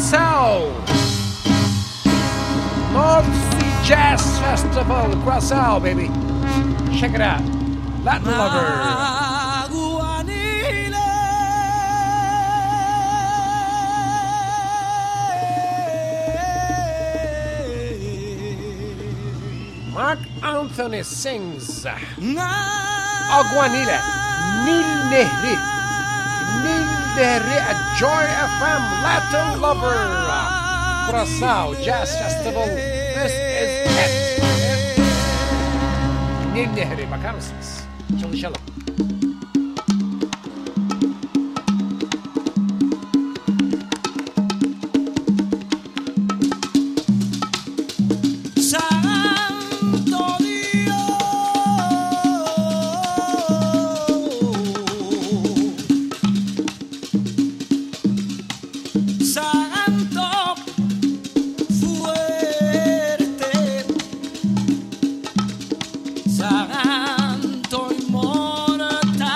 Curaçao. North Sea Jazz Festival, Curaçao, baby. Check it out. Latin Lover. Mark Anthony sings Aguanile, Nil Nehri, Nil Nehri at Joy FM, Latin Lover, Curaçao Jazz Festival. This is it. Nil Nehri, bakar mısınız? Çalışalım. Santo inmortal.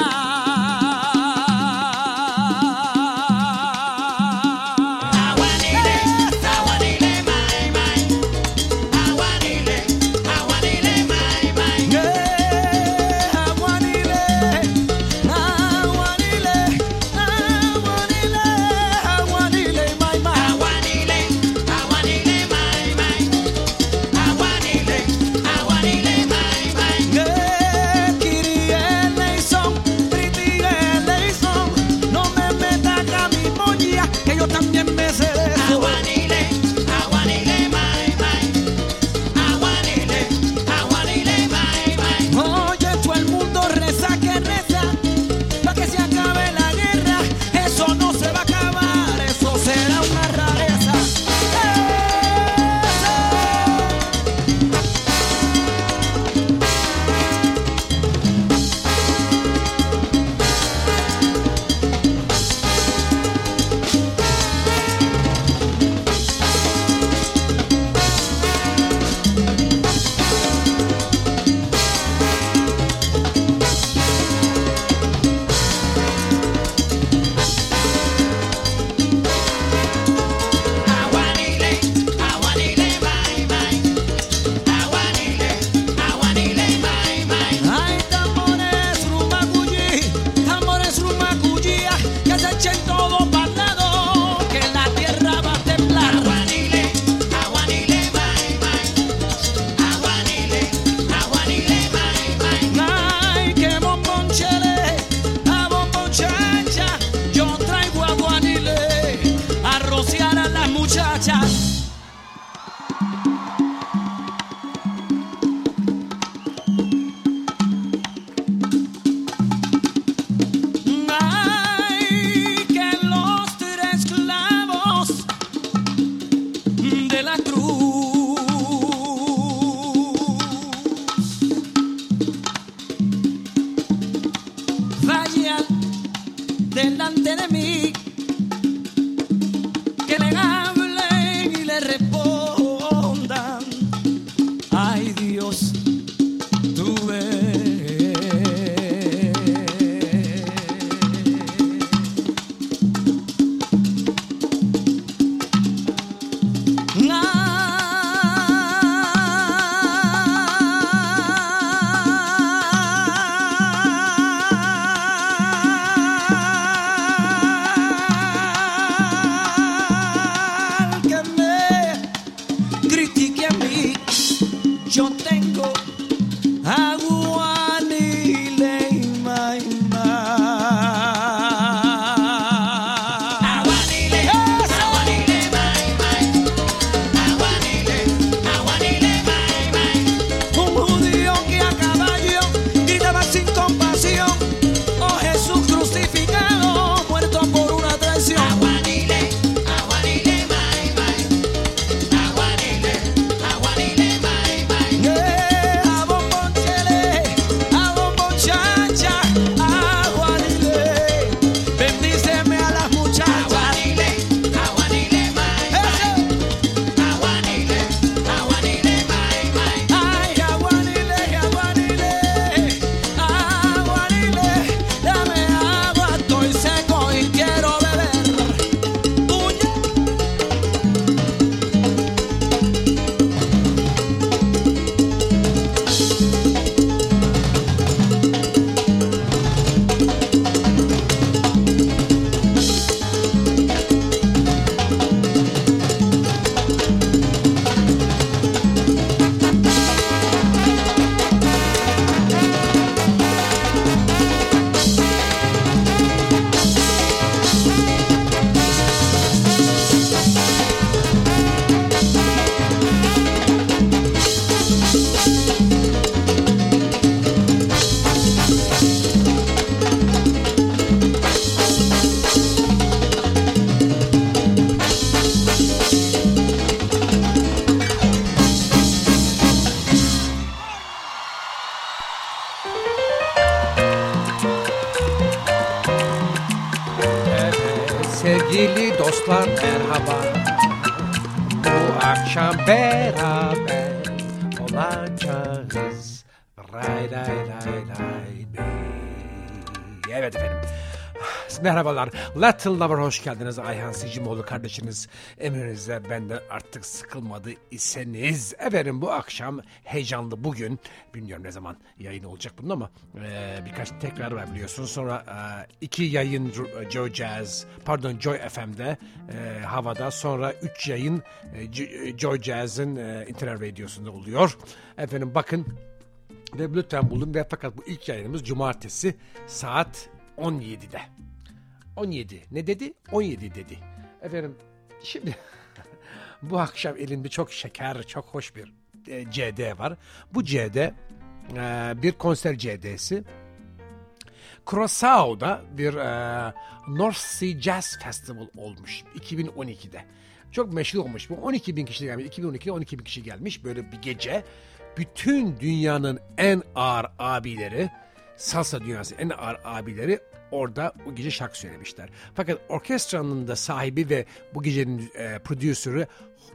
Sevgili dostlar merhaba. Bu akşam beraber olacağız. Ray ray ray ray bey. Evet efendim. Merhabalar. Little Lover hoş geldiniz. Ayhan Sicimoğlu kardeşiniz. Emrinizde benden artık sıkılmadı iseniz. Efendim bu akşam heyecanlı bugün. Bilmiyorum ne zaman yayın olacak bunun ama birkaç tekrar var biliyorsunuz. Sonra 2 yayın Joy FM'de havada. Sonra 3 yayın Joy Jazz'ın internet radyosunda oluyor. Efendim bakın ve lütfen bulun ve fakat bu ilk yayınımız cumartesi saat 17'de. 17 ne dedi? 17 dedi. Efendim şimdi bu akşam elimde çok şeker, çok hoş bir CD var. Bu CD bir konser CD'si. Curaçao'da bir North Sea Jazz Festival olmuş 2012'de. Çok meşhur olmuş. Bu 12 bin kişi gelmiş. 2012'de 12 bin kişi gelmiş. Böyle bir gece bütün dünyanın en ağır abileri, salsa dünyası en ağır abileri orada o gece şarkı söylemişler. Fakat orkestranın da sahibi ve bu gecenin prodüsörü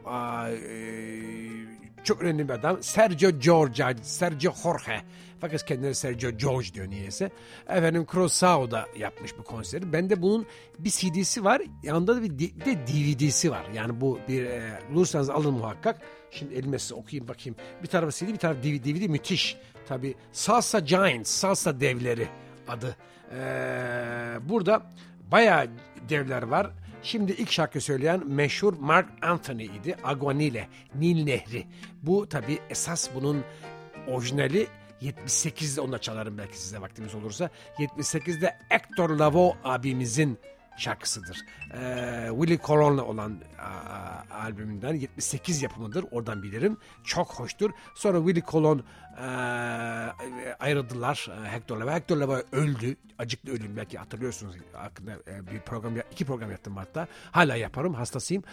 çok önemli bir adam. Sergio Jorge. Fakat kendine Sergio George diyor niyeyse. Efendim Curaçao'da yapmış bu konseri. Bende bunun bir CD'si var. Yanında da bir de DVD'si var. Yani bu bir bulursanız alın muhakkak. Şimdi elime size okuyayım bakayım. Bir tarafı CD bir tarafı DVD müthiş. Tabii Salsa Giants, Salsa Devleri adı. Burada bayağı devler var. Şimdi ilk şarkı söyleyen meşhur Mark Anthony idi. Aguanile, Nil Nehri. Bu tabii esas bunun orijinali 78'de onu da çalarım belki size vaktimiz olursa. 78'de Hector Lavoe abimizin şarkısıdır. Willie Colon'la olan albümünden 78 yapımıdır. Oradan bilirim. Çok hoştur. Sonra Willie Colon ayrıldılar. Hector Lavoe öldü. Acıklı ölüm belki hatırlıyorsunuz. Hakkında iki program yaptım hatta. Hala yaparım. Hastasıyım.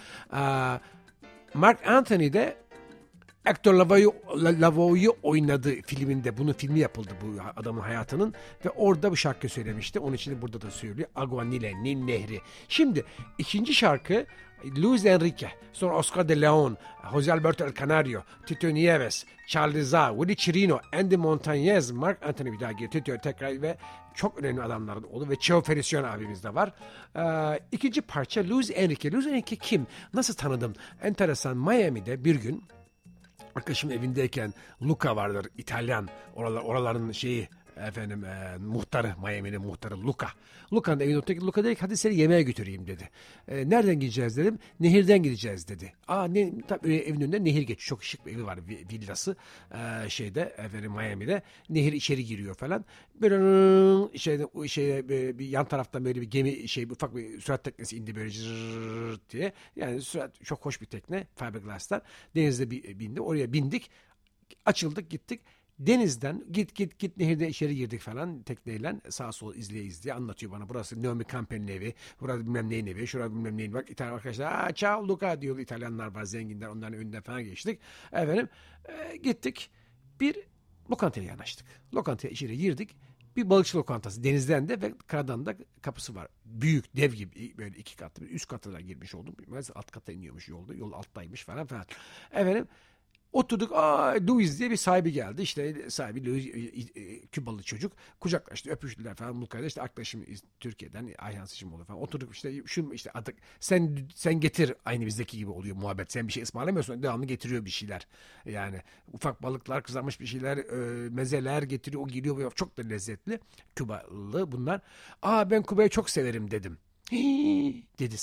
Mark Anthony de Hector Lavoe'yu oynadı filminde. Bunun filmi yapıldı bu adamın hayatının. Ve orada bu şarkı söylemişti. Onun için de burada da söylüyor. Agua Nile, Nil Nehri. Şimdi ikinci şarkı Luis Enrique, sonra Oscar de Leon, Jose Alberto El Canario, Tito Nieves, Charles Za, Willie Chirino, Andy Montañez, Mark Anthony bir daha giriyor. Tito tekrar ve çok önemli adamların oldu ve Cheo Feliciano abimiz de var. İkinci parça Luis Enrique. Luis Enrique kim? Nasıl tanıdım? Enteresan. Miami'de bir gün arkadaşım evindeyken Luca vardır İtalyan oraların şeyi efendim muhtarı Miami'nin muhtarı Luca. Luca'nın evinde otururken Luca dedi ki hadi seni yemeğe götüreyim dedi. Nereden gideceğiz dedim. Nehirden gideceğiz dedi. Tabii evin önünde nehir geçiyor. Çok şık bir evi var villası şeyde efendim Miami'de. Nehir içeri giriyor falan. Böyle bir yan taraftan böyle bir gemi ufak bir sürat teknesi indi böyle cırrrrt diye. Yani sürat çok hoş bir tekne fiberglass'tan. Denizde bindi. Oraya bindik. Açıldık gittik. Denizden git nehirde içeri girdik falan tekneyle sağa sola izleye anlatıyor bana. Burası Naomi Campbell'in evi, burası bilmem neyin evi, şurada bilmem neyin bak İtalyan arkadaşlar ciao Luca diyor İtalyanlar var zenginler onların önünden falan geçtik. Efendim gittik bir lokantaya yanaştık. Lokantaya içeri girdik. Bir balıkçı lokantası denizden de ve karadan da kapısı var. Büyük dev gibi böyle 2 katlı üst katına girmiş oldum. Alt kata iniyormuş yolda. Yol alttaymış falan. Efendim oturduk. Louis diye bir sahibi geldi. İşte sahibi Louis Kübalı çocuk. Kucaklaştı, öpüştüler falan. Luka'da işte arkadaşım Türkiye'den Ayhan Sicimoğlu falan. Oturduk işte işte artık sen getir aynı bizdeki gibi oluyor muhabbet. Sen bir şey ısmarlamıyorsun. Devamlı getiriyor bir şeyler. Yani ufak balıklar, kızarmış bir şeyler, mezeler getiriyor. O geliyor. Çok da lezzetli. Kübalı bunlar. Ben Küba'yı çok severim dedim. Dedi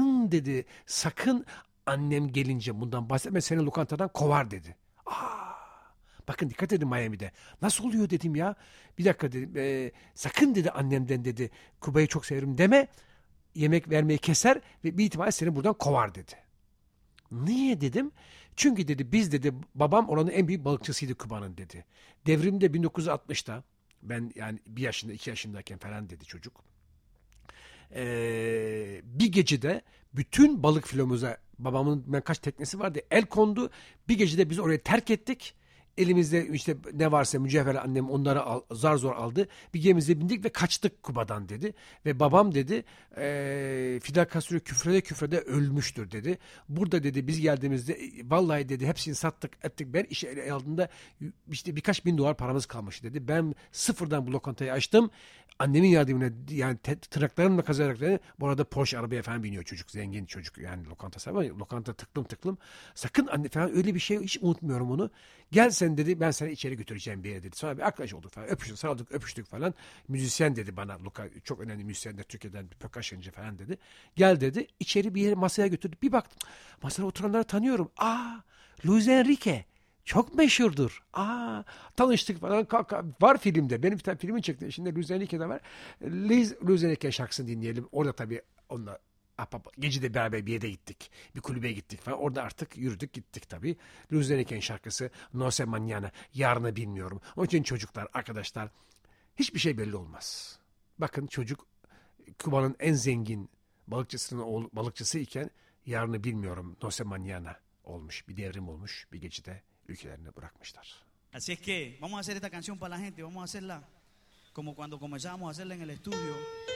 sakın annem gelince bundan bahsetme seni lokantadan kovar dedi. Bakın dikkat edin Miami'de. Nasıl oluyor dedim ya. Bir dakika dedim. Sakın dedi annemden dedi. Küba'yı çok severim deme. Yemek vermeyi keser ve bir ihtimalle seni buradan kovar dedi. Niye dedim. Çünkü dedi biz dedi babam oranın en büyük balıkçısıydı Küba'nın dedi. Devrimde 1960'ta ben yani 1 yaşında 2 yaşındayken falan dedi çocuk. Bir gecede bütün balık filomuza babamın kaç teknesi vardı el kondu. Bir gecede biz orayı terk ettik. elimizde işte ne varsa mücevher, annem onları zar zor aldı. Bir gemimize bindik ve kaçtık Küba'dan dedi. Ve babam dedi Fidel Castro küfrede ölmüştür dedi. Burada dedi biz geldiğimizde vallahi dedi hepsini sattık ettik. Ben işe ele aldığımda işte birkaç bin dolar paramız kalmış dedi. Ben sıfırdan bu lokantayı açtım. Annemin yardımıyla yani tırnaklarımla kazarak dedi. Bu arada Porsche arabaya falan biniyor çocuk. Zengin çocuk yani lokanta sahibi. Lokanta tıklım. Sakın anne falan öyle bir şey hiç unutmuyorum onu. Gel sen dedi ben seni içeri götüreceğim bir yere dedi. Sonra bir arkadaş olduk falan. Öpüştük falan. Müzisyen dedi bana. Çok önemli müzisyenler Türkiye'den bir percussionci falan dedi. Gel dedi. İçeri bir yere masaya götürdü. Bir baktım. Masada oturanları tanıyorum. Luis Enrique. Çok meşhurdur. Tanıştık falan. Var filmde. Benim bir tane filmin çıktı. İçinde Luis Enrique'de var. Luis Enrique şarkısını dinleyelim. Orada tabii onunla gece de beraber bir yere gittik. Bir kulübe gittik falan. Orada artık yürüdük gittik tabii. Luis Enrique'nin şarkısı No sé mañana. Yarını bilmiyorum. Onun için çocuklar, arkadaşlar hiçbir şey belli olmaz. Bakın çocuk Küba'nın en zengin balıkçısı iken yarını bilmiyorum. No sé mañana olmuş. Bir devrim olmuş. Bir gecede ülkelerini bırakmışlar. Así es que vamos a hacer esta canción para la gente. Vamos a hacerla como cuando comenzamos a hacerla en el estudio.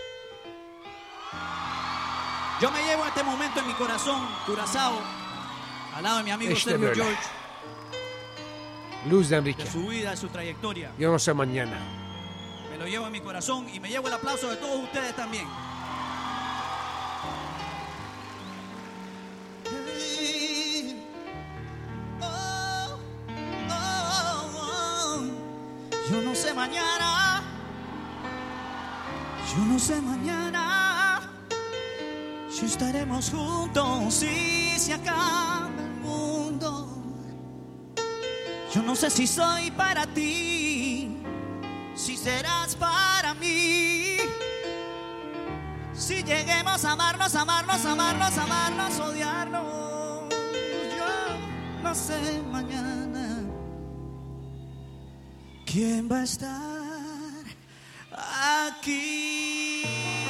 Yo me llevo este momento en mi corazón, Curazao, al lado de mi amigo İşte Sergio böyle. George, Luis Enrique. de su vida, de su trayectoria. Yo no sé mañana. Me lo llevo en mi corazón y me llevo el aplauso de todos ustedes también. Yo no sé mañana, yo no sé mañana si estaremos juntos, si se acaba el mundo. Yo no sé si soy para ti, si serás para mí. Si lleguemos a amarnos, odiarnos. Yo no sé mañana quién va a estar aquí.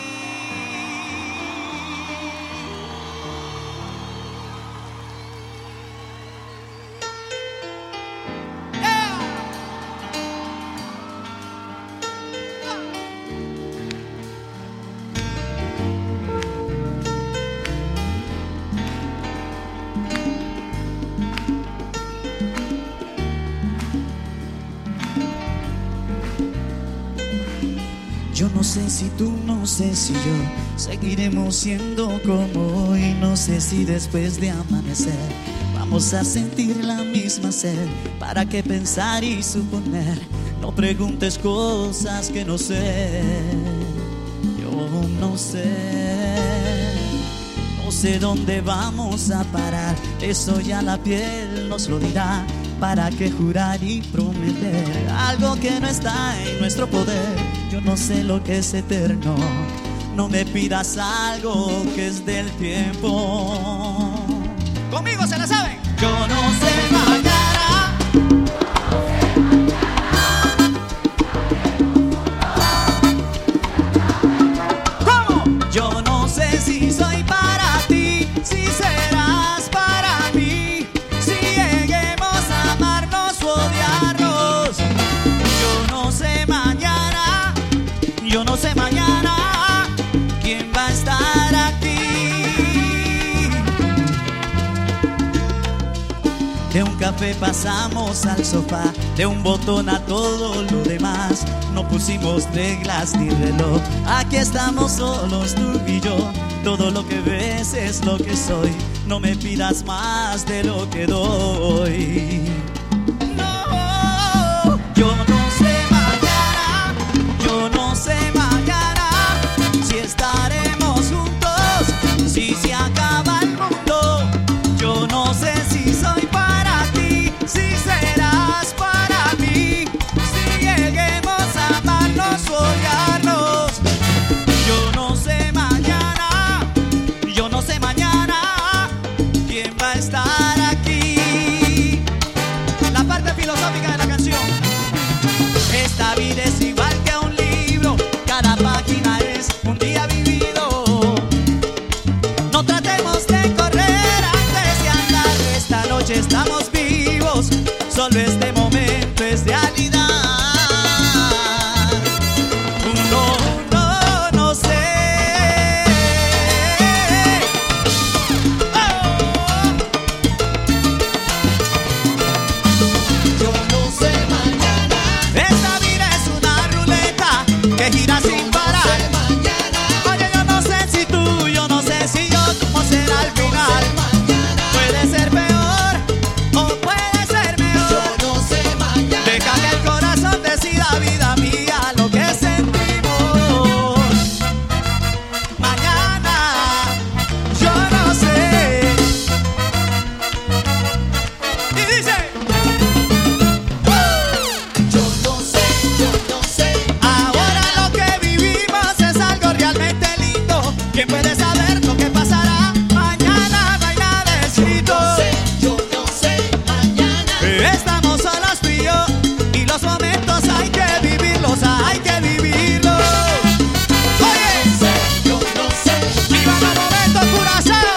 Yo no sé si tú, no sé si yo seguiremos siendo como hoy. No sé si después de amanecer vamos a sentir la misma sed. ¿Para qué pensar y suponer? No preguntes cosas que no sé. Yo no sé. No sé dónde vamos a parar. Eso ya la piel nos lo dirá. ¿Para qué jurar y prometer algo que no está en nuestro poder? Yo no sé lo que es eterno. No me pidas algo que es del tiempo. Conmigo se la saben. Yo no sé mañana. ¿Cómo? Yo no sé si soy para ti, si serás para mí, si lleguemos a amarnos o odiarnos. Yo no sé mañana, yo no sé mañana quién va a estar aquí. De un café pasamos al sofá, de un botón a todo lo demás. No pusimos reglas ni reloj, aquí estamos solos tú y yo. Todo lo que ves es lo que soy, no me pidas más de lo que doy. No, yo no sé mañana, yo no sé mañana si estaremos juntos, si se acaba el mundo. Yo no sé si soy para ti, si serás para mí, si lleguemos a amarnos o odiarnos. Yo no sé mañana, yo no sé mañana quién va a estar aquí. estamos vivos, solo este momento es realidad. No sé. Yo no sé mañana. Esta vida es una ruleta que gira sin parar. Oye, yo no sé si tú, yo no sé si yo, cómo será al final. Puede ser peor o puede ser mejor. Yo no sé mañana. Deja que el corazón decida, vida mía, lo que sentimos. Mañana, yo no sé. Y dice, yo no sé. Ahora lo que vivimos es algo realmente lindo. ¿Quién puede saber lo que pasará? Mañana no hay nada escrito. Yo no sé mañana. Estamos solos tú y yo, y los momentos hay que vivirlos, hay que vivirlos. Oye, yo no sé. ¡Viva los momentos, Curazao!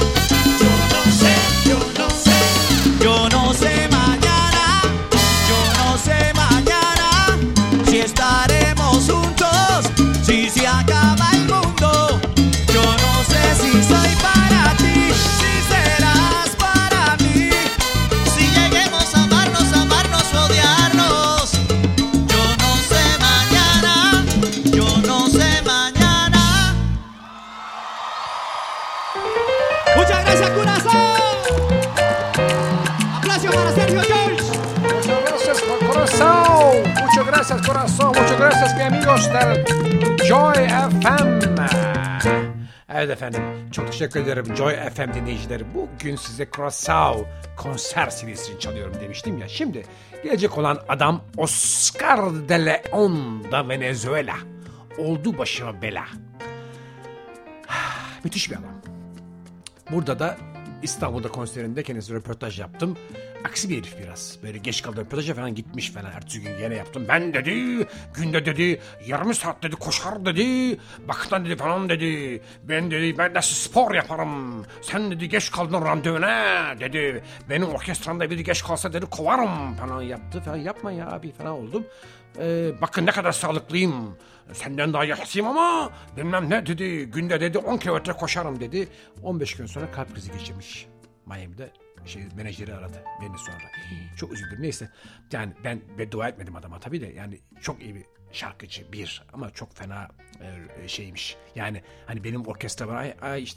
Yo no sé. Yo no sé mañana. Yo no sé mañana si estaremos juntos, si se acaba el mundo. Yo no sé si soy para ti, si serás para mí, si lleguemos a amarnos, odiarnos. Yo no sé mañana, yo no sé mañana. Muchas gracias, Curazao. Aplausos para Sergio George. Muchas gracias, corazón. Muchas gracias, corazón. Muchas gracias, mi amigos del Joy FM. Evet efendim, çok teşekkür ederim Joy FM dinleyicileri. Bugün size Curaçao konser CD'sini çalıyorum demiştim ya. Şimdi gelecek olan adam Oscar de Leon da Venezuela. Oldu başıma bela. Müthiş bir adam. Burada da İstanbul'da konserinde kendisine röportaj yaptım. Aksi bir herif biraz. Böyle geç kaldı röportaja falan gitmiş falan. Ertesi gün yine yaptım. Ben dedi, günde dedi, yarım saat dedi, koşar dedi. Baktan dedi falan dedi. Ben de spor yaparım. Sen dedi geç kaldın randevuna dedi. Benim orkestramda biri geç kalsa dedi kovarım falan yaptı falan. Yapma ya abi falan oldum. Bakın ne kadar sağlıklıyım. Senden daha yaşlıyım ama bilmem ne dedi. Günde dedi 10 kilometre koşarım dedi. 15 gün sonra kalp krizi geçirmiş. Miami'de menajeri aradı beni sonra. Çok üzüldüm. Neyse yani ben beddua etmedim adama tabii de yani çok iyi bir şarkıcı bir ama çok fena şeymiş. Yani hani benim orkestra var.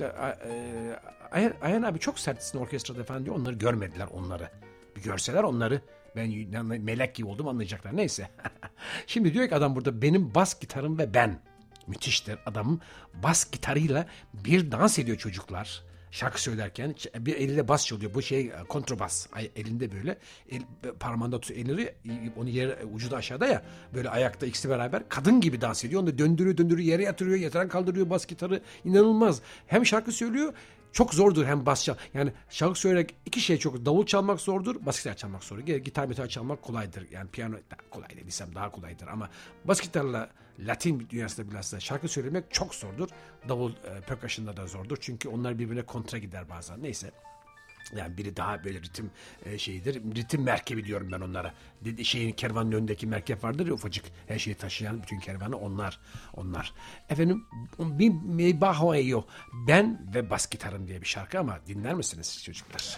Ayhan abi çok sertsin orkestrada falan diyor. Onları görmediler onları. Bir görseler onları ben melek gibi oldum anlayacaklar. Neyse. Şimdi diyor ki adam burada benim bas gitarım ve ben. Müthiştir adamın bas gitarıyla bir dans ediyor çocuklar. Şarkı söylerken bir eliyle bas çalıyor. Bu kontrabas. Elinde böyle. Parmağında tutuyor elleri. Onu yere ucu da aşağıda ya. Böyle ayakta ikisi beraber. Kadın gibi dans ediyor. Onu döndürüyor. Yere yatırıyor. Yatıran kaldırıyor bas gitarı. İnanılmaz. Hem şarkı söylüyor. Çok zordur hem bas çal. Yani şarkı söylemek iki şey çok. Davul çalmak zordur. Bas gitar çalmak zordur. Gitar çalmak kolaydır. Yani piyano kolay dediysem daha kolaydır. Ama bas gitarla Latin dünyasında bilhassa şarkı söylemek çok zordur. Davul percussion'da da zordur. Çünkü onlar birbirine kontra gider bazen. Yani biri daha böyle ritim şeyidir. Ritim merkebi diyorum ben onlara. Kervanın önündeki merkep vardır ya ufacık. Her şeyi taşıyan bütün kervanı onlar. Efendim bir Mebaho Eyo. Ben ve bas gitarım diye bir şarkı ama dinler misiniz çocuklar?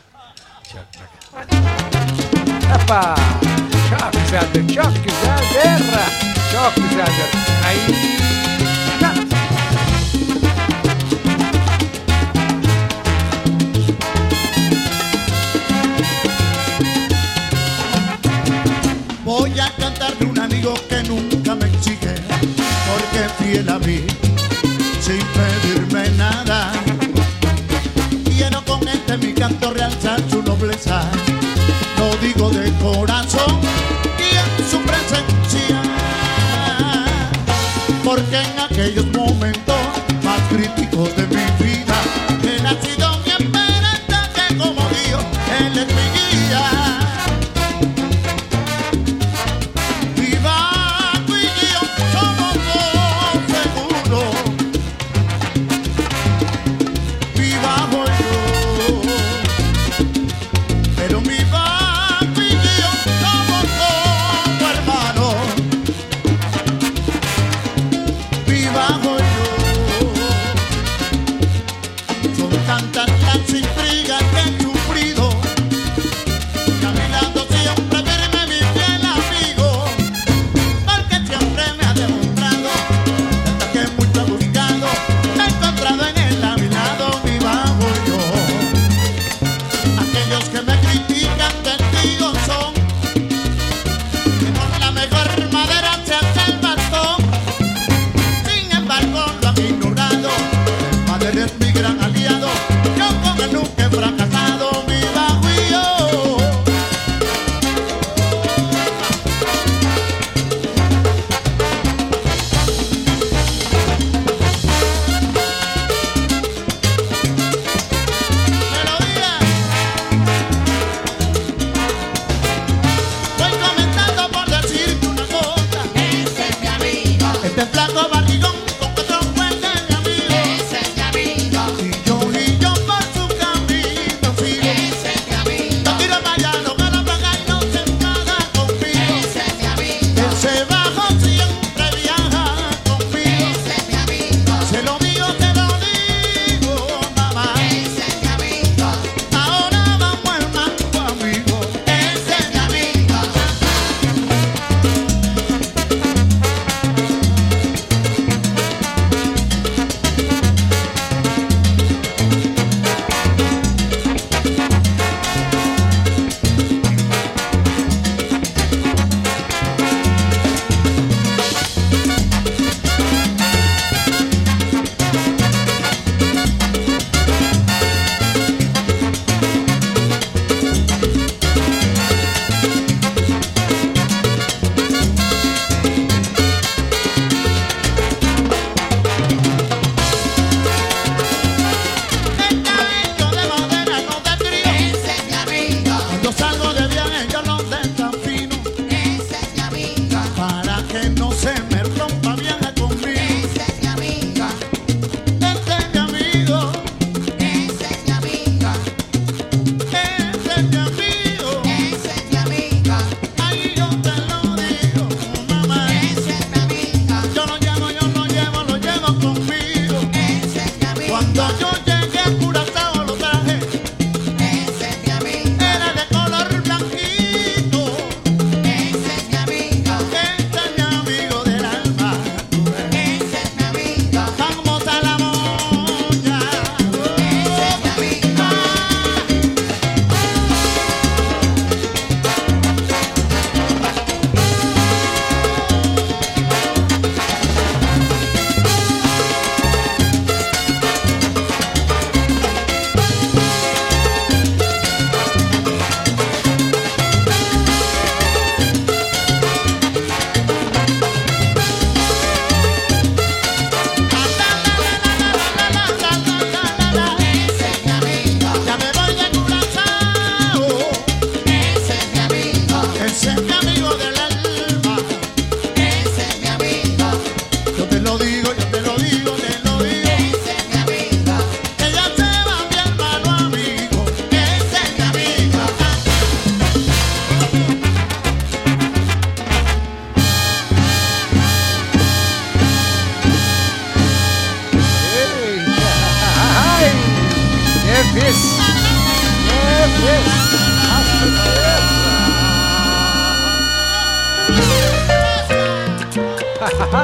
Hoppa! Çok güzeldir. Çok güzeldir. Ay! Voy a cantar de un amigo que nunca me exige, porque es fiel a mí, sin pedirme nada. Quiero con mi canto realzar su nobleza, lo digo de corazón y en su presencia, porque en aquellos momentos más críticos de mi vida, él ha sido mi esperanza, que como Dios, él es mi guía. Pero mi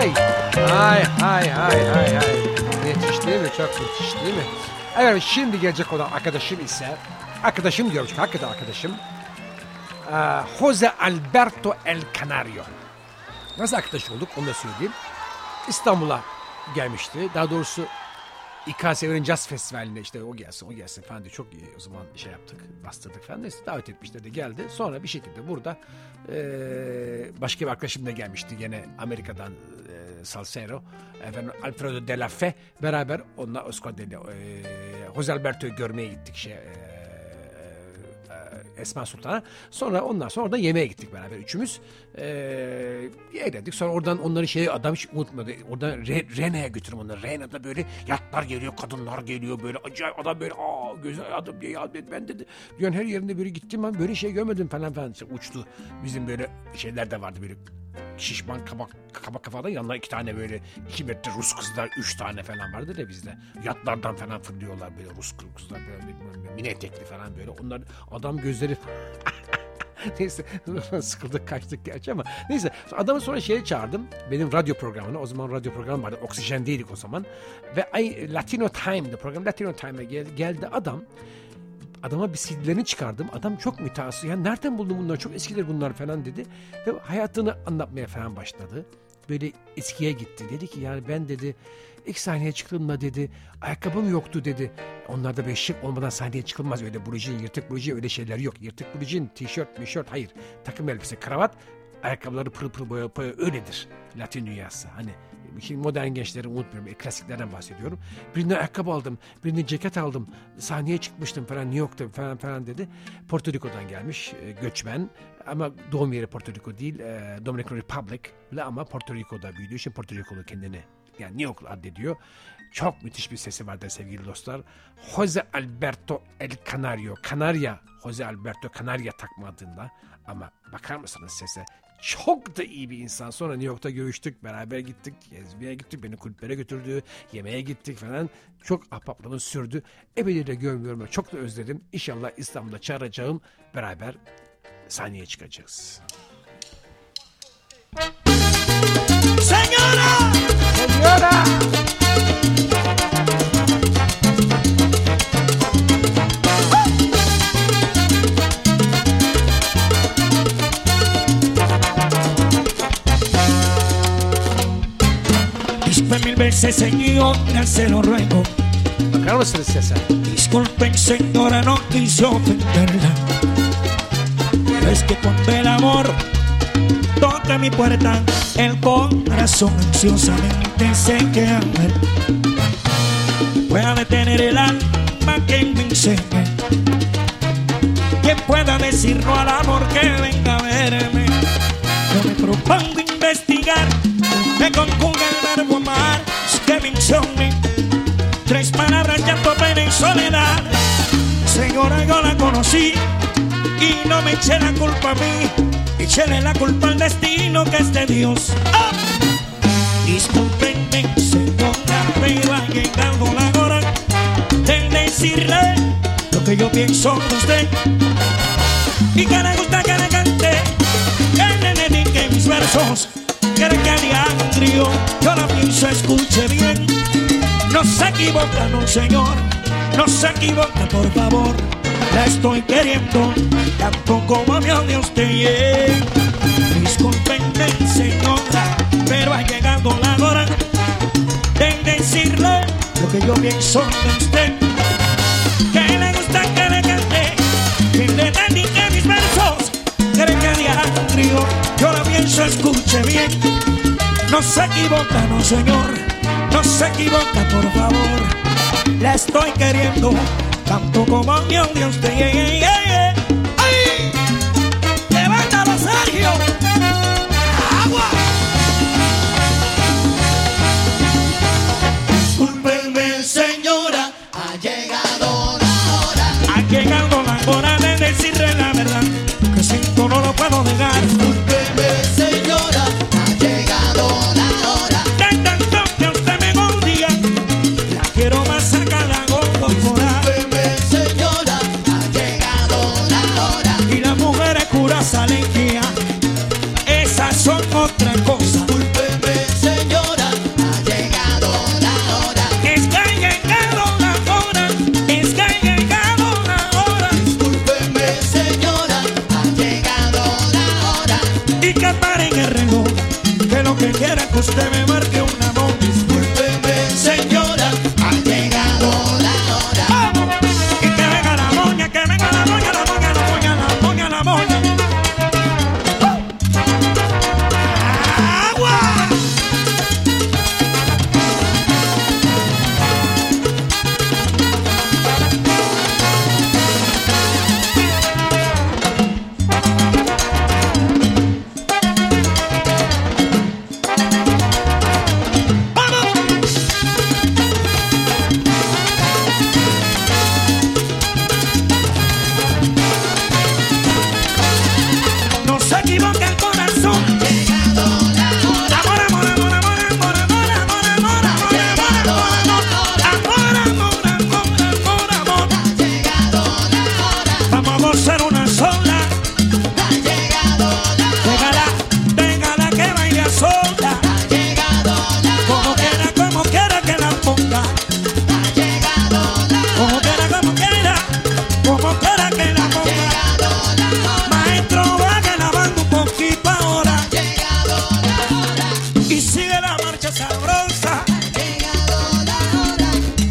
Ay. Müthiş değil mi? Çok müthiş değil mi? Evet, şimdi gelecek olan arkadaşım ise, arkadaşım diyorum çünkü hakikaten arkadaşım, Jose Alberto El Canario. Nasıl arkadaş olduk onu da söyleyeyim. İstanbul'a gelmişti. Daha doğrusu İKSV'nin Jazz Festivali'ne işte o gelsin falan diye çok iyi o zaman şey yaptık, bastırdık falan. Neyse davet etmişler de geldi. Sonra bir şekilde burada başka bir arkadaşım da gelmişti gene Amerika'dan Salsero. Efendim Alfredo de la Fe beraber onunla Jose Alberto'yu görmeye gittik Esma Sultan'a. Ondan sonra da yemeğe gittik beraber üçümüz. Eğlendik. Sonra oradan onları adam hiç unutmadı. Oradan Rene'ye götürdüm onları. Rene'de böyle yatlar geliyor, kadınlar geliyor böyle acayip adam böyle güzel adam diye ya ben dedi. Dünyanın her yerinde böyle gittim ben böyle şey görmedim falan işte uçtu. Bizim böyle şeyler de vardı böyle şişman kabak kafadan yanına 2 tane böyle 2 metre Rus kızlar 3 tane falan vardı da bizde. Yatlardan falan fırlıyorlar böyle Rus kızlar böyle mini etekli falan böyle. Onlar adam gözleri neyse sıkıldık kaçtık gerçi ama neyse adamı sonra çağırdım benim radyo programına. O zaman radyo programı vardı, Oksijendeydik o zaman ve Latino Time'da program Latino Time'da geldi adam. Adama bir CD'lerini çıkardım. Adam çok mütehassıs. Ya nereden buldun bunları? Çok eskiler bunlar falan dedi. Ve hayatını anlatmaya falan başladı. Böyle eskiye gitti. Dedi ki yani ben dedi ilk sahneye çıktığımda dedi ayakkabım yoktu dedi. Onlarda böyle şık olmadan sahneye çıkılmaz. Öyle blujin, yırtık blujin öyle şeyler yok. Yırtık blujin, tişört, hayır. Takım elbise, kravat, ayakkabıları pırıl pırıl boya öyledir. Latin dünyası. Hani şimdi modern gençleri unutmuyorum. Klasiklerden bahsediyorum. Birine ayakkabı aldım. Birine ceket aldım. Sahneye çıkmıştım falan New York'ta falan dedi. Porto Rico'dan gelmiş. Göçmen. Ama doğum yeri Porto Rico değil. Dominican Republic. Ama Porto Rico'da büyüdüğü için Porto Rico'lu kendini yani New York addediyor. Çok müthiş bir sesi vardır sevgili dostlar. Jose Alberto El Canario. Kanarya. Jose Alberto Kanarya takma adında. Ama bakar mısınız sese? Çok da iyi bir insan. Sonra New York'ta görüştük. Beraber gittik. Gezmeye gittik. Beni kulüplere götürdü. Yemeğe gittik falan. Çok ahbaplığımız sürdü. Epeydir de görmüyorum. Çok da özledim. İnşallah İstanbul'da çağıracağım. Beraber sahneye çıkacağız. Señora. Disculpe mil veces, señora, se lo ruego. Bakar mısınız sese? Disculpen, señora, no quise ofenderla. Pero es que cuando el amor toca mi puerta, el corazón ansiosamente se queda. Pueda detener el alma que me enseñe. Quien pueda decir no al amor que venga a verme. Yo me propongo investigar. Me conjuga el verbo amar, que me insomne. 3 palabras, llanto, pena y soledad. Señora, yo la conocí y no me eché la culpa a mí. Échele la culpa al destino que es de Dios. ¡Oh! Discúlpenme, señora, pero ha llegado la hora de decirle lo que yo pienso de usted. Y que le gusta que le cante, que le dedique mis versos. Quiere que haga un trío, yo la pienso, escuche bien. No se equivoca, no señor, no se equivoca, por favor. La estoy queriendo, tanto como me odia usted. Discúlpenme, señora, pero ha llegado la hora de decirle lo que yo pienso de usted. Que le gusta que le cante, que le dedique mis versos. Quiere que haga un trío, yo la pienso, escuche bien. No se equivoca, no señor, no se equivoca, por favor. La estoy queriendo, tanto como me odia usted. ¡Ay! ¡Levántalo, Sergio! ¡Agua! Discúlpeme, señora, ha llegado la hora. Ha llegado la hora de decirle la verdad, que siento no lo puedo negar. Discúlpeme, señora, ha llegado la hora. De tanto que usted me odia, la quiero más cerca de algo corporal. Discúlpeme, señora, ha llegado la hora. Y las mujeres curas salen guía, esas son otra cosa. Discúlpeme, señora. usted me marque una voz. Discúlpeme, señora, ha llegado la hora. ¡Vamos! Y que venga la moña, que venga la moña, la moña, la moña, la moña, la moña. ¡Agua! No se equivoque el corazón. Llegado la hora. Amor, amor, amor, amor, amor, amor, amor, amor, amor, amor, amor, amor. Ha llegado la hora. Vamos a gozar una sola. Ha llegado la hora. Déjala que baile sola. Ha llegado la hora. Como quiera que la ponga. Ha llegado la hora. Como quiera que la ponga. Maestro, vaya lavando un poquito ahora. Llegado la hora. Y sigue la marcha sabrosa. Llegado la hora.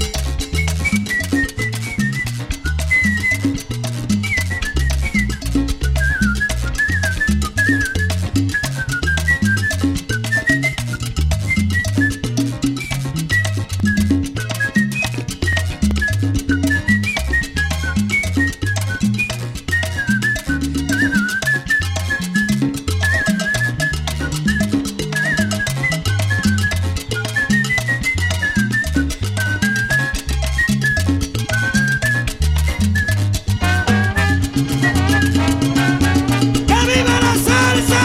¡Que viva la salsa!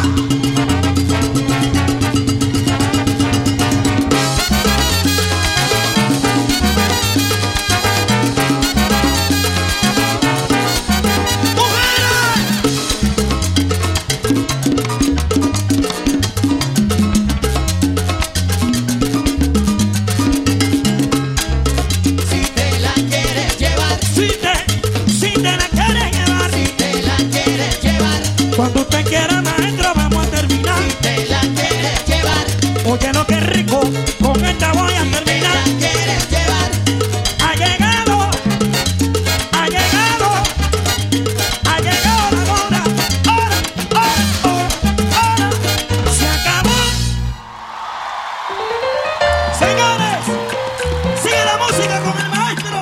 Si te la quieres llevar, Si te la quieres llevar, si te la quieres llevar, cuando usted quiera, maestro, vamos a terminar. si te la quieres llevar, Oye, no, qué rico, con esta voy a si te terminar. la quieres llevar, Ha llegado, ha llegado, ha llegado la hora. Hora, se acabó. Señores, sigue la música con el maestro.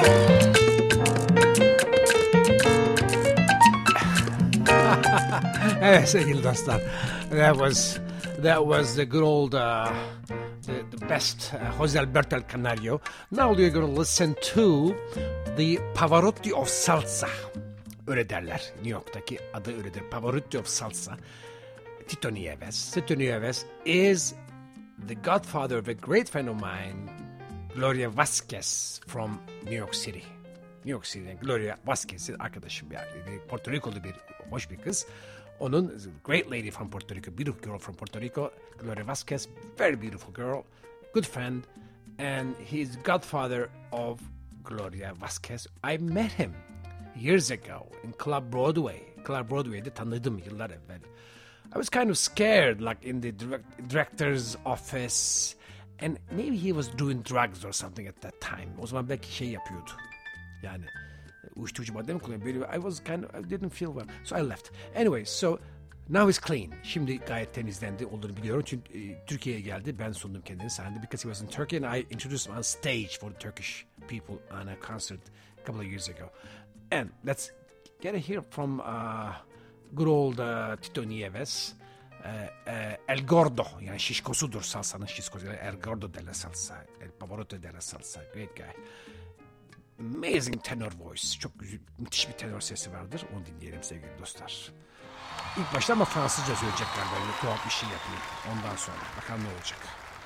Evet sevgili dostlar. That was the good old the best Jose Alberto El Canario. Now we're going to listen to the Pavarotti of Salsa. Öyle derler. New York'taki adı öyledir. Pavarotti of Salsa. Tito Nieves. Tito Nieves is the godfather of a great friend of mine, Gloria Vasquez from New York City. New York City'den Gloria Vasquez'in arkadaşım yani. Porto Rikolu bir hoş bir kız. Onun great lady from Puerto Rico, beautiful girl from Puerto Rico, Gloria Vasquez, very beautiful girl, good friend, and he's godfather of Gloria Vasquez. I met him years ago in Club Broadway. Club Broadway'de tanıdım yıllar evvel. I was kind of scared, like in the director's office, and maybe he was doing drugs or something at that time. O zaman belki şey yapıyordu. Yani uyuşturucu madde mi kullanıyor? I didn't feel well. So I left. Anyway, so now he's clean. Şimdi gayet temizlendi olduğunu biliyorum. Çünkü Türkiye'ye geldi. Ben sundum kendini sahnede. Because he was in Turkey and I introduced him on stage for the Turkish people on a concert a couple of years ago. And let's get a hear from good old Tito Nieves. El Gordo, yani şişkosudur salsanın şişkosu. El Gordo de la salsa. El Pavarotti de la salsa. Great guy. Amazing tenor voice. Çok güzel, müthiş bir tenor sesi vardır. Onu dinleyelim sevgili dostlar. İlk başta ama Fransızca söyleyecekler böyle tuhaf bir şey yapayım. Ondan sonra bakalım ne olacak.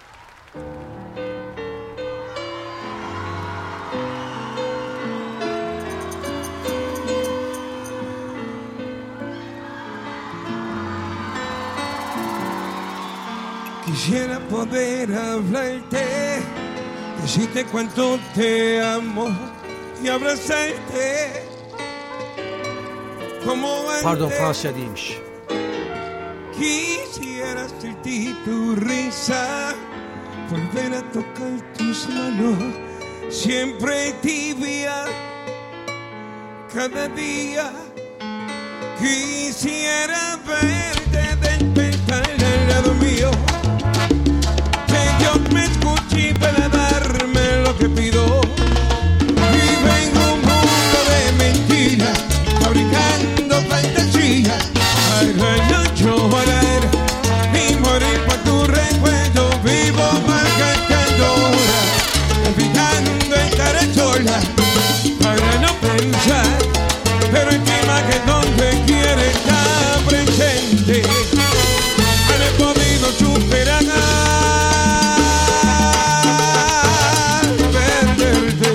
Quisiera poder hablarte, decirte cuánto te amo y abrazarte como antes. Pardon, Fransızca değilmiş. Quisiera sentir tu risa, volver a tocar tus manos, siempre tibia, cada día. Quisiera verte despertar al lado mío, que Dios me escuche para darme lo que pido. Vivo en un mundo de mentiras, fabricando fantasías, para no llorar y morir por tu recuerdo. Vivo malgastando horas, evitando estar sola, para no pensar, pero encima que donde quiere estar presente. No he podido superar perderte.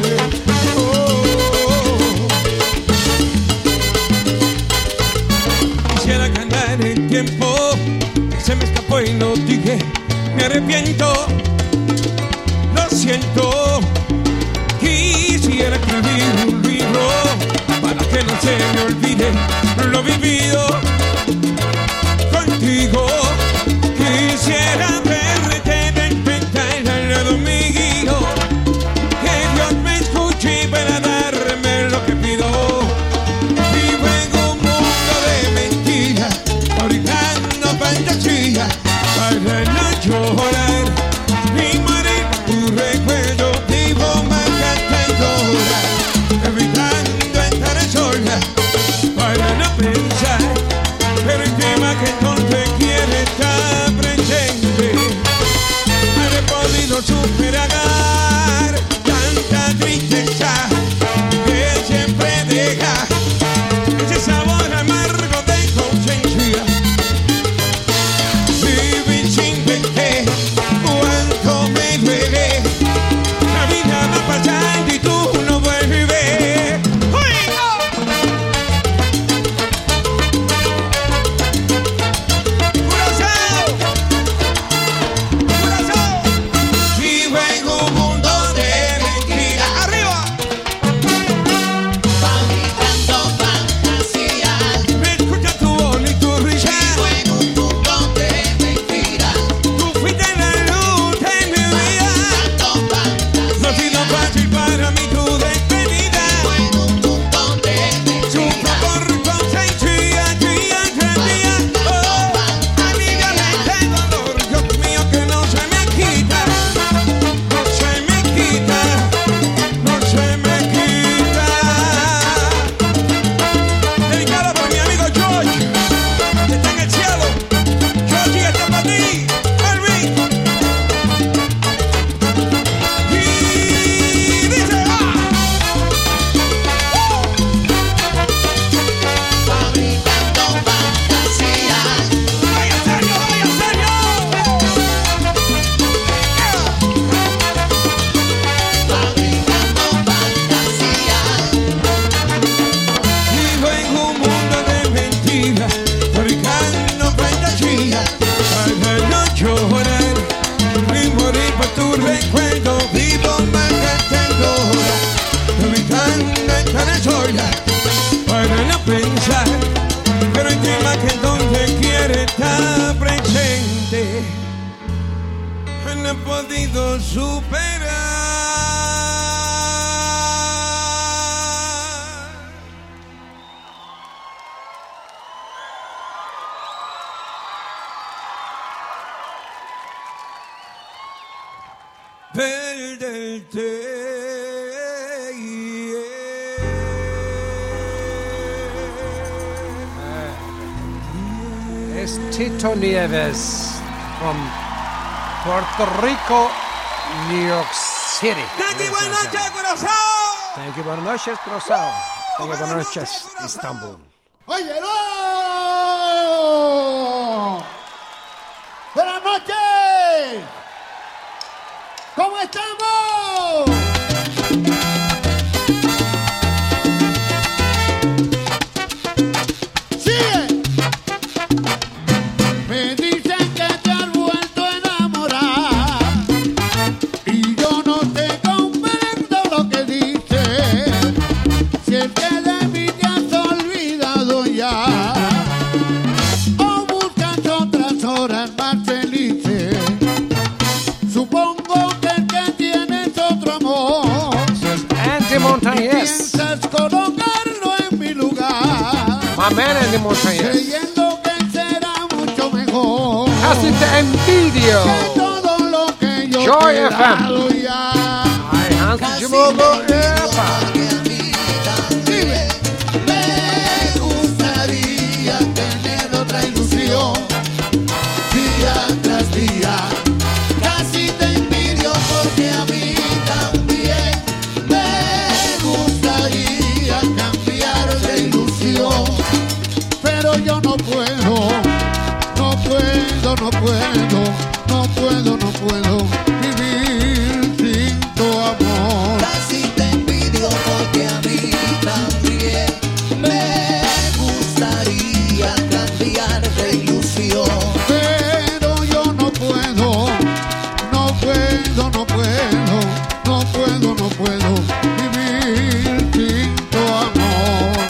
Quisiera ganar el tiempo que se me escapó y no dije. Me arrepiento, lo siento. Quisiera escribir un libro para que no se me olvide lo vivido contigo. Quisiera verte despertar al lado mío, que Dios me escuche para darme lo que pido. Vivo en un mundo de mentiras, fabricando fantasías, para no llorar ni morir por tu recuerdo. Vivo malgastando horas, evitando estar sola, para no pensar, pero el tema que no te quiere estar presente. No he podido superar tanta tristeza que siempre deja ese sabor amargo de conciencia. Vivir sin verte, cuánto me duele. La vida va pasando y tú no vuelves. Vivo en un mundo de mentiras. ¡Arriba! Fabricando fantasías. Me escucha tu voz y tu risa. Vivo en un mundo de mentiras. Tú fuiste la luz de mi vida. Fabricando No ha sido fantasías. fácil para mí tu despedida. Vivo en un mundo de Sufro mentiras. por conciencia día tras día. Aliviame este dolor, Dios mío, que no se me quita. No se me quita. No se me quita. Dedicado por mi amigo George, que está en el cielo. George, este es para ti, Elvin. Y dice, Fabricando fantasías. ¡vaya serio, vaya serio! Fabricando fantasías. Vivo en un mundo de mentiras, fabricando fantasías, para no llorar ni morir por tu recuerdo. Vivo malgastando horas, evitando estar sola, para no pensar, pero el tema que donde quiere estar presente. No he podido superar. Perderte. Es Tito Nieves from Puerto Rico, New York City. Thank you, buenas noches, corazón. Thank you, buenas noches, Cruzado. Thank you, buenas noches, Istanbul. ¡Óyelo! ¡Buenas noches! ¿Cómo estamos? ¡Sigue! Me dicen que te has vuelto a enamorar y yo no te comprendo lo que dices. Si es que de mí te has olvidado ya. Anthony Montañez. creyendo que será mucho mejor. Casi te envidio. Que todo lo que yo Joy te he FM. dado ya. Ay, Hans Chimogo, epa. Dime. Me gustaría tener otra ilusión. Día tras día. Casi te envidio porque a mí también me gustaría cambiar de ilusión. Pero yo no puedo, no puedo, no puedo, no puedo, no puedo vivir sin tu amor. Casi te envidio porque a mí también me gustaría cambiar de ilusión. Pero yo no puedo, no puedo, no puedo, no puedo, no puedo vivir sin tu amor.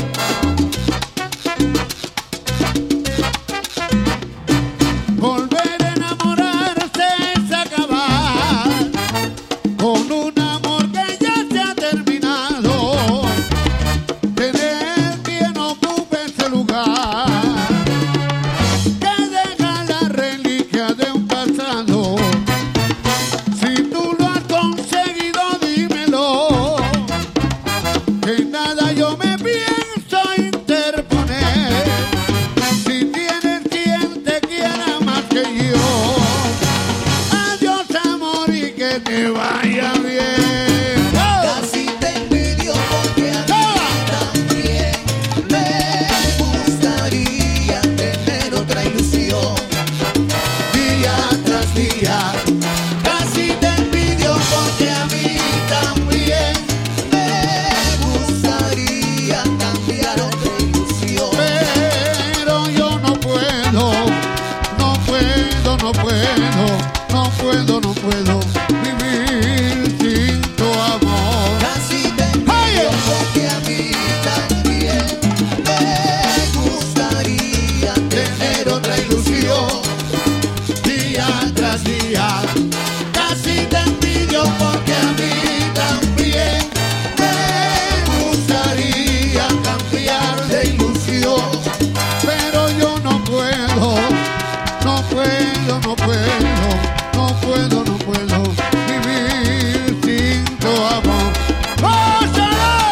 Volver a enamorarse es acabar con un amor que ya se ha terminado. Tener quien ocupe ese lugar que deja la reliquia de un pasado. Si tú lo has conseguido, dímelo, que nada yo me pienso interponer. Si tienes quien te quiera más que yo, adiós amor y que te vaya bien. Casi te envidio porque a mí también me gustaría tener otra ilusión. Día tras día, Casi te envidio porque a mí también me gustaría cambiar de ilusión. pero yo no puedo, no puedo, no puedo, no puedo, no puedo vivir sin tu amor. Casi te envidio porque a mí también me gustaría tener otra ilusión. Día tras día, casi te envidio porque a mí también me gustaría cambiar de ilusión. Pero yo no puedo, no puedo, no puedo, no puedo, no puedo vivir sin tu amor. ¡Gózalo!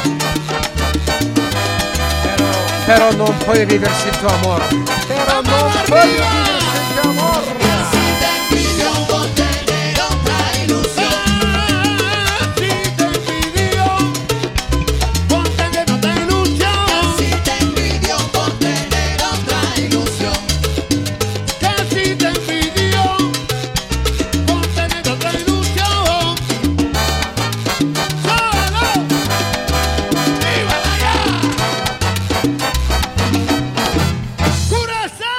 Pero no puede vivir sin tu amor. Pero no puede vivir sin tu amor. Casi te envidio por tener otra ilusión. Casi te envidio por tener otra ilusión. Casi te envidio por tener otra ilusión. Casi te envidio por tener otra ilusión. ¡Solo! ¡Viva allá! ¡Curazao!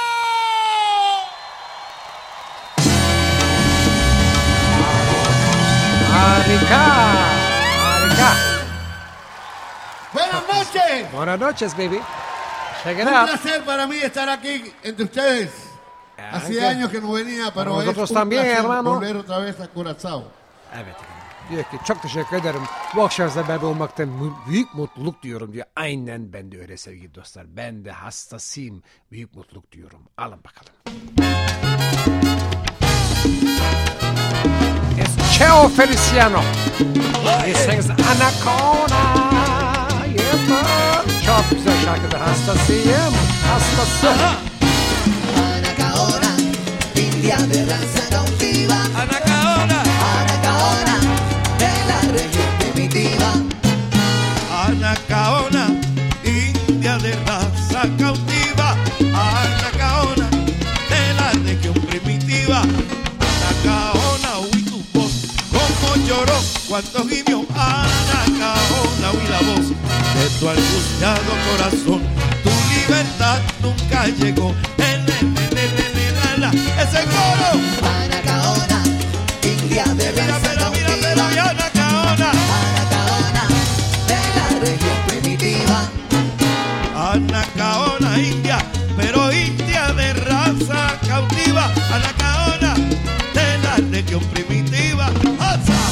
Arica. Arica. Buenas noches. Buenas noches, baby. Check it Un out. placer para mí estar aquí entre ustedes. Hacía años que no venía, pero Para es nosotros un también, placer hermano. volver otra vez a Curazao. Evet. Diyor ki çok teşekkür ederim. Bu akşam sizlerle beraber olmaktan büyük mutluluk diyorum diyor. Aynen ben de öyle sevgili dostlar. Ben de hastasıyım. Büyük mutluluk diyorum. Alın bakalım. It's Cheo Feliciano. He sings Anaconda. Yeah, man. Çok güzel şarkıdır. Hastasıyım. Hastası. Anacaona, india de raza cautiva. Anacaona, Anacaona, de la región primitiva. Anacaona, india de raza cautiva. Anacaona, de la región primitiva. Anacaona, oí tu voz, como lloró cuando gimió. Anacaona, oí la voz de tu angustiado corazón. Tu libertad nunca llegó. Ese coro. Anacaona, india de Mira, raza pero, mira, pero, cautiva. y Anacaona. Anacaona, de la región primitiva. Anacaona india, pero india de raza cautiva. Anacaona de la región primitiva. ¡Alza!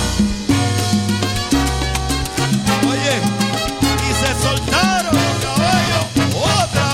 Oye, y se soltaron los caballos. ¡Otra!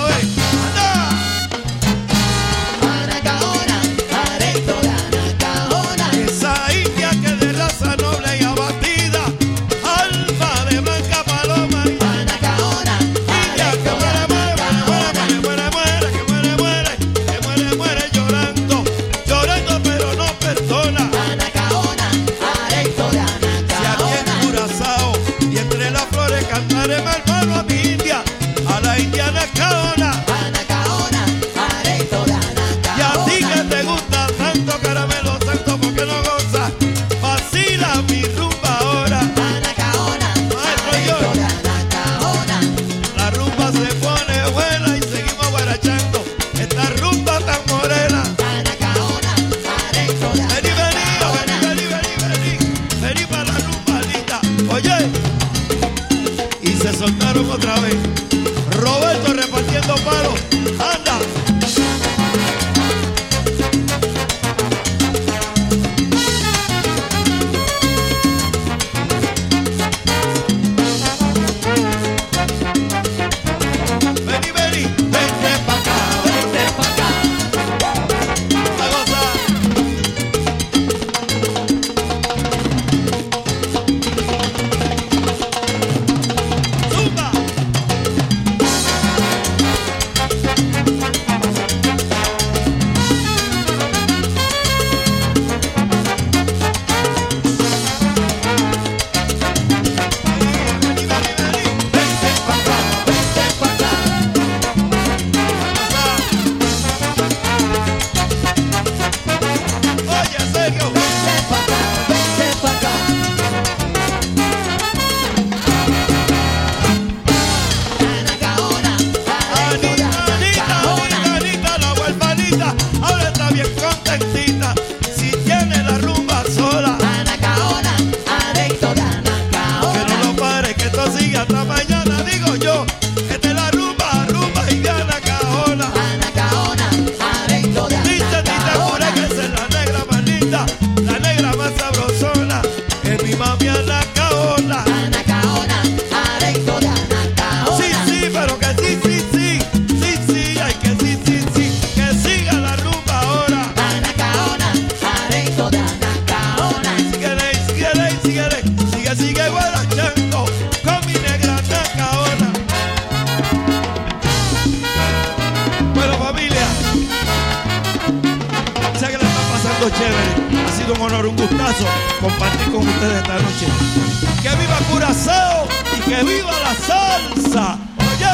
pasando chévere. Ha sido un honor, un gustazo compartir con ustedes esta noche. ¡Que viva Curazao y que viva la salsa! ¡Oye!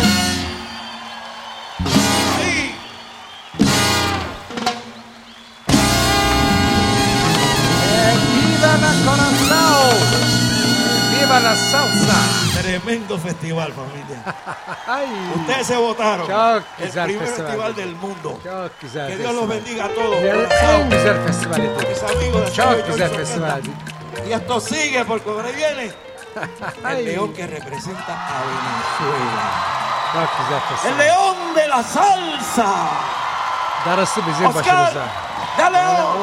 Ahí. ¡Viva la Curazao! ¡Viva la salsa! Tremendo festival, familia. Ay, Ustedes se votaron. Çok El güzel primer festival. festival del mundo. çok güzel Que Dios los festival. bendiga a todos. Dünyanın Curazao, en güzel festivali. mis amigos de Çok Sello güzel Joyce festival. Orquesta. Y esto sigue porque por ahí viene Ay, el león que representa a Venezuela. çok güzel El festival. león de la salsa. Darısı bizim Oscar başımıza. de León.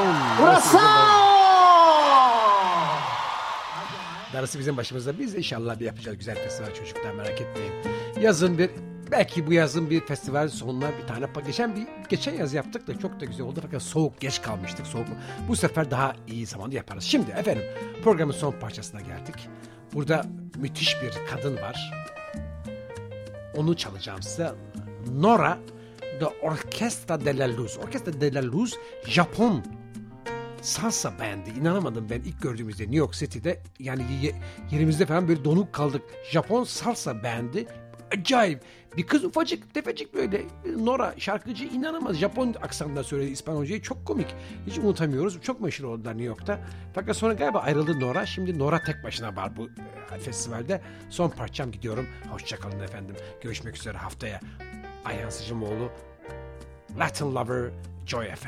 Darısı bizim başımıza. Biz inşallah bir yapacağız güzel festival çocuklar, merak etmeyin. Yazın belki bu yazın bir festival sonuna bir tane geçen yaz yaptık da çok da güzel oldu fakat soğuk, geç kalmıştık. Soğuk. Bu sefer daha iyi zamanda yaparız. Şimdi efendim programın son parçasına geldik. Burada müthiş bir kadın var. Onu çalacağım size. Nora The Orchestra de la Luz. Orchestra de la Luz Japon salsa bendi. İnanamadım ben ilk gördüğümüzde New York City'de, yani yerimizde falan böyle donuk kaldık. Japon salsa bendi. Acayip. Bir kız ufacık tefecik böyle. Nora şarkıcı, inanılmaz. Japon aksanında söyledi İspanyolcayı. Çok komik. Hiç unutamıyoruz. Çok meşhur oldular New York'ta. Fakat sonra galiba ayrıldı Nora. Şimdi Nora tek başına var bu festivalde. Son parçam, gidiyorum. Hoşçakalın efendim. Görüşmek üzere haftaya. Ayhan Sıcımoğlu, Latin Lover, Joy FM.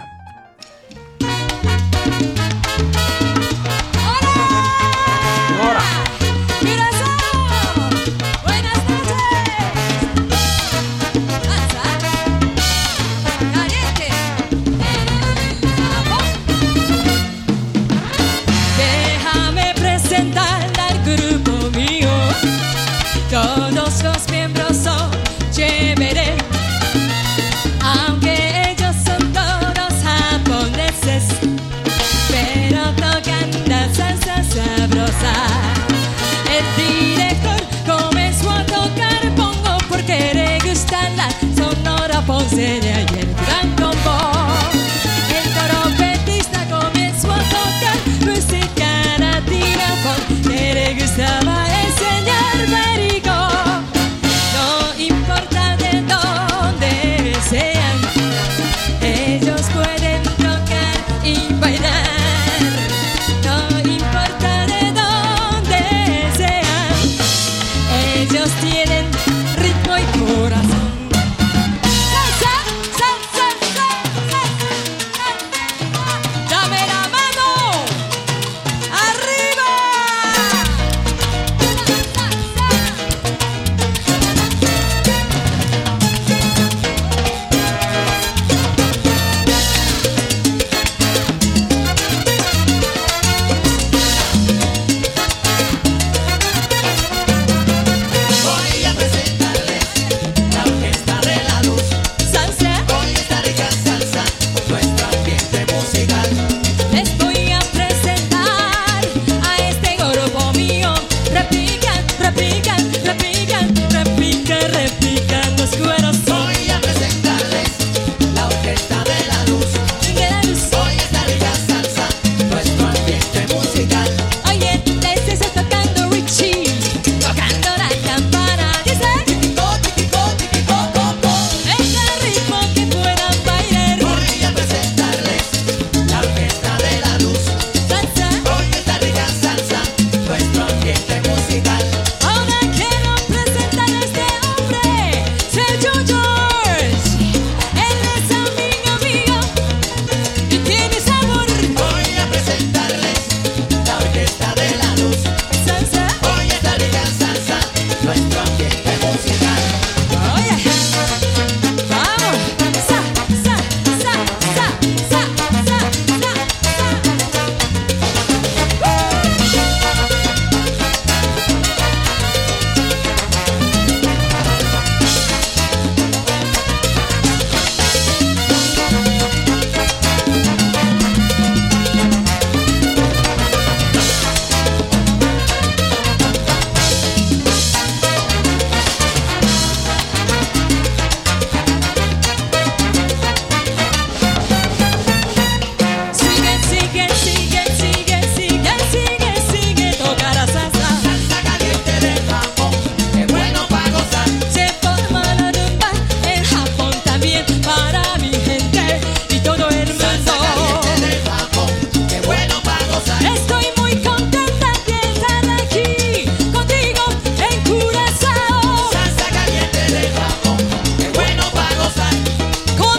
Nora. Curazao, buenas noches. Danza caliente Japón. Déjame presentar al grupo mío. Todos los miembros son chéveres, aunque ellos son todos japoneses, pero tocan la salsa sabrosa. El director comenzó a tocar pongo porque le gusta la sonora Ponce de ayer gran combo. El trompetista comenzó a tocar música latina porque le gustaba el señor Perico. No importa de dónde sean, ellos pueden tocar y bailar. No importa de dónde sean, ellos tienen ritmo y corazón. Salsa, también para mi gente y todo el mundo. Qué bueno para gozar. Estoy muy contenta de estar aquí contigo en Curazao. Salsa caliente de Japón. Qué bueno para gozar. Con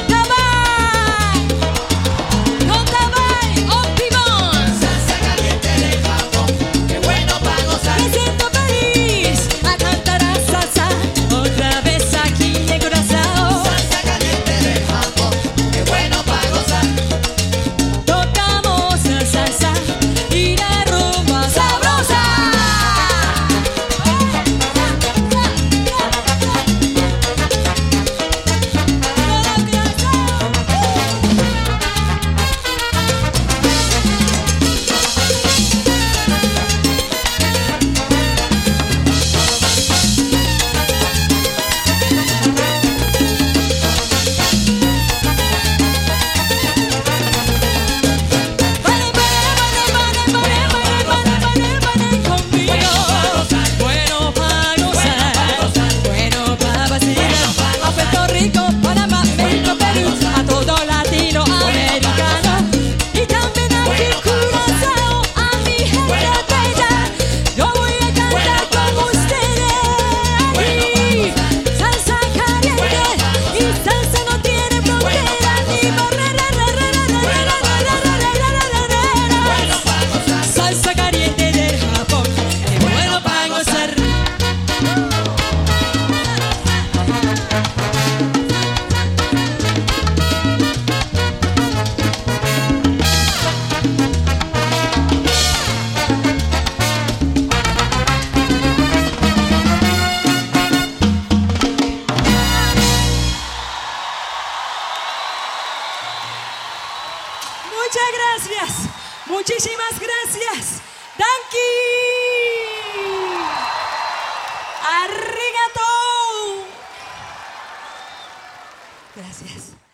Tabay, Optimón. Salsa caliente de Japón. Qué bueno para gozar. Me siento feliz a cantar a salsa otra vez aquí en Curazao. Salsa caliente de Japón. Qué bueno para gozar. Tocamos la salsa y la rumba sabrosa. Conmigo. Bueno para gozar, bueno para vacilar. A Puerto Rico, Panamá, México, Perú, a todo latinoamericano. Y también aquí en Curazao, a mi gente bella. Yo voy a cantar con ustedes aquí. Salsa caliente y salsa no tiene frontera ni barreras. Salsa caliente del Japón, qué bueno para gozar. Muchas gracias, muchísimas gracias. Danki. Arigato. Gracias.